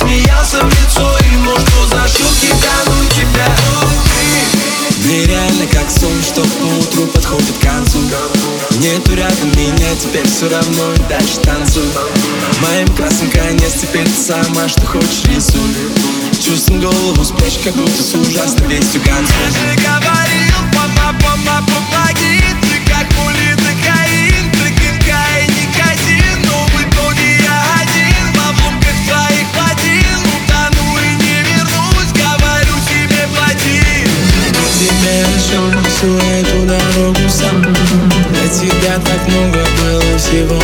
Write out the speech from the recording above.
смеялся в лицо ему, что за шутки тянут тебя. Нереально как сон, что поутру подходит к концу. Нету рядом меня, теперь все равно и дальше танцуй. Моим красным конец, теперь ты сама, что хочешь рисуй. Чувствуем голову спрячь, как будто с ужасной вестью концу. Я же говорил, помоги. Ты как улиток Каин, прикинка и никотин. Но в итоге я один в обломках твоих плотин. Утону и не вернусь, говорю тебе плати. Тебе нашел всю эту дорогу сам. Для тебя так много было всего